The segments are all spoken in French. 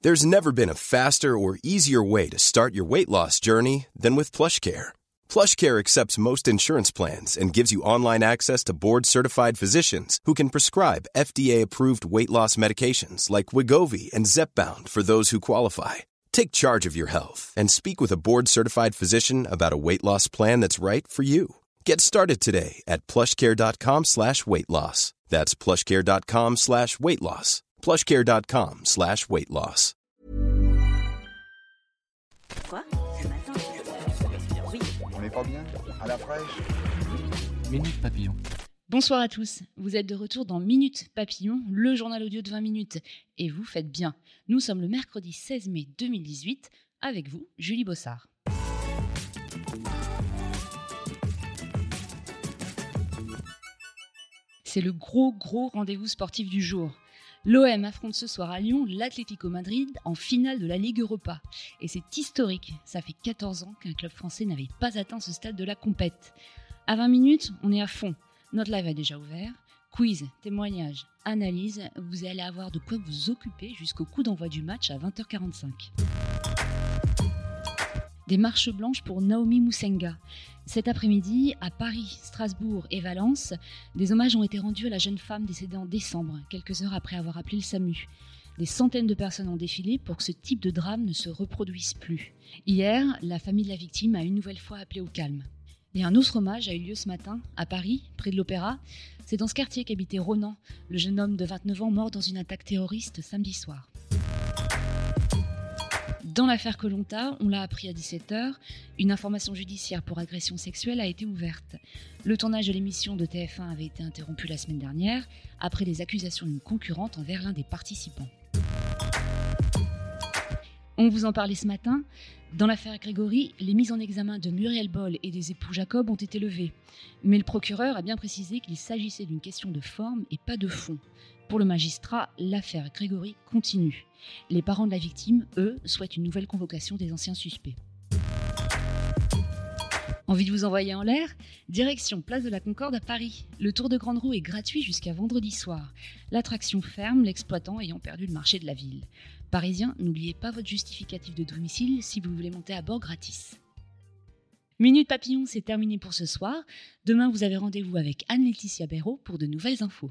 There's never been a faster or easier way to start your weight loss journey than with PlushCare. PlushCare accepts most insurance plans and gives you online access to board-certified physicians who can prescribe FDA-approved weight loss medications like Wegovy and Zepbound for those who qualify. Take charge of your health and speak with a board-certified physician about a weight loss plan that's right for you. Get started today at plushcare.com/weight loss. That's plushcare.com/weight loss. plushcare.com/weight loss. Quoi? Ce matin, oui. On n'est pas bien? À la fraîche? Minute Papillon. Bonsoir à tous, vous êtes de retour dans Minute Papillon, le journal audio de 20 minutes. Et vous faites bien, nous sommes le mercredi 16 mai 2018, avec vous, Julie Bossard. C'est le gros rendez-vous sportif du jour. L'OM affronte ce soir à Lyon l'Atlético Madrid en finale de la Ligue Europa. Et c'est historique, ça fait 14 ans qu'un club français n'avait pas atteint ce stade de la compète. À 20 minutes, on est à fond. Notre live a déjà ouvert. Quiz, témoignages, analyse, vous allez avoir de quoi vous occuper jusqu'au coup d'envoi du match à 20h45. Des marches blanches pour Naomi Musenga. Cet après-midi, à Paris, Strasbourg et Valence, des hommages ont été rendus à la jeune femme décédée en décembre, quelques heures après avoir appelé le SAMU. Des centaines de personnes ont défilé pour que ce type de drame ne se reproduise plus. Hier, la famille de la victime a une nouvelle fois appelé au calme. Et un autre hommage a eu lieu ce matin, à Paris, près de l'Opéra. C'est dans ce quartier qu'habitait Ronan, le jeune homme de 29 ans mort dans une attaque terroriste samedi soir. Dans l'affaire Koh-Lanta, on l'a appris à 17h, une information judiciaire pour agression sexuelle a été ouverte. Le tournage de l'émission de TF1 avait été interrompu la semaine dernière, après les accusations d'une concurrente envers l'un des participants. On vous en parlait ce matin. Dans l'affaire Grégory, les mises en examen de Muriel Boll et des époux Jacob ont été levées. Mais le procureur a bien précisé qu'il s'agissait d'une question de forme et pas de fond. Pour le magistrat, l'affaire Grégory continue. Les parents de la victime, eux, souhaitent une nouvelle convocation des anciens suspects. Envie de vous envoyer en l'air? Direction Place de la Concorde à Paris. Le tour de grande roue est gratuit jusqu'à vendredi soir. L'attraction ferme, l'exploitant ayant perdu le marché de la ville. Parisiens, n'oubliez pas votre justificatif de domicile si vous voulez monter à bord gratis. Minute Papillon, c'est terminé pour ce soir. Demain, vous avez rendez-vous avec Anne-Laetitia Béraud pour de nouvelles infos.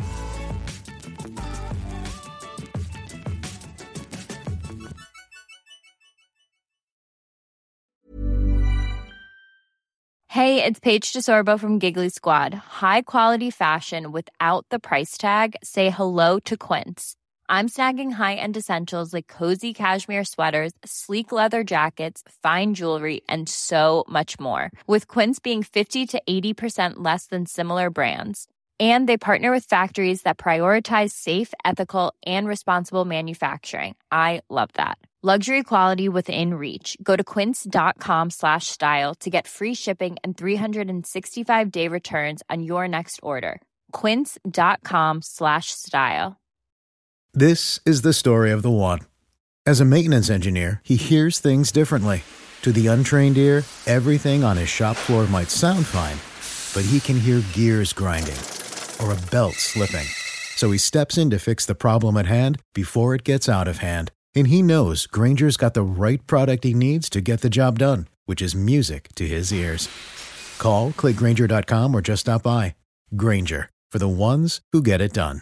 Hey, it's Paige DeSorbo from Giggly Squad. High quality fashion without the price tag. Say hello to Quince. I'm snagging high-end essentials like cozy cashmere sweaters, sleek leather jackets, fine jewelry, and so much more. With Quince being 50 to 80% less than similar brands. And they partner with factories that prioritize safe, ethical, and responsible manufacturing. I love that. Luxury quality within reach. Go to quince.com/style to get free shipping and 365-day returns on your next order. Quince.com/style. This is the story of the one. As a maintenance engineer, he hears things differently. To the untrained ear, everything on his shop floor might sound fine, but he can hear gears grinding or a belt slipping. So he steps in to fix the problem at hand before it gets out of hand. And he knows Grainger's got the right product he needs to get the job done, which is music to his ears. Call, click Grainger.com or just stop by. Grainger, for the ones who get it done.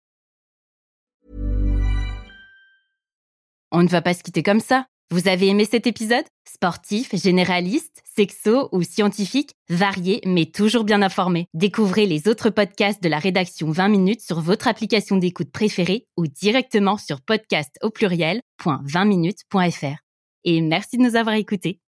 On ne va pas se quitter comme ça. Vous avez aimé cet épisode? Sportif, généraliste, sexo ou scientifique, varié mais toujours bien informé. Découvrez les autres podcasts de la rédaction 20 minutes sur votre application d'écoute préférée ou directement sur podcast au pluriel.20minutes.fr. Et merci de nous avoir écoutés.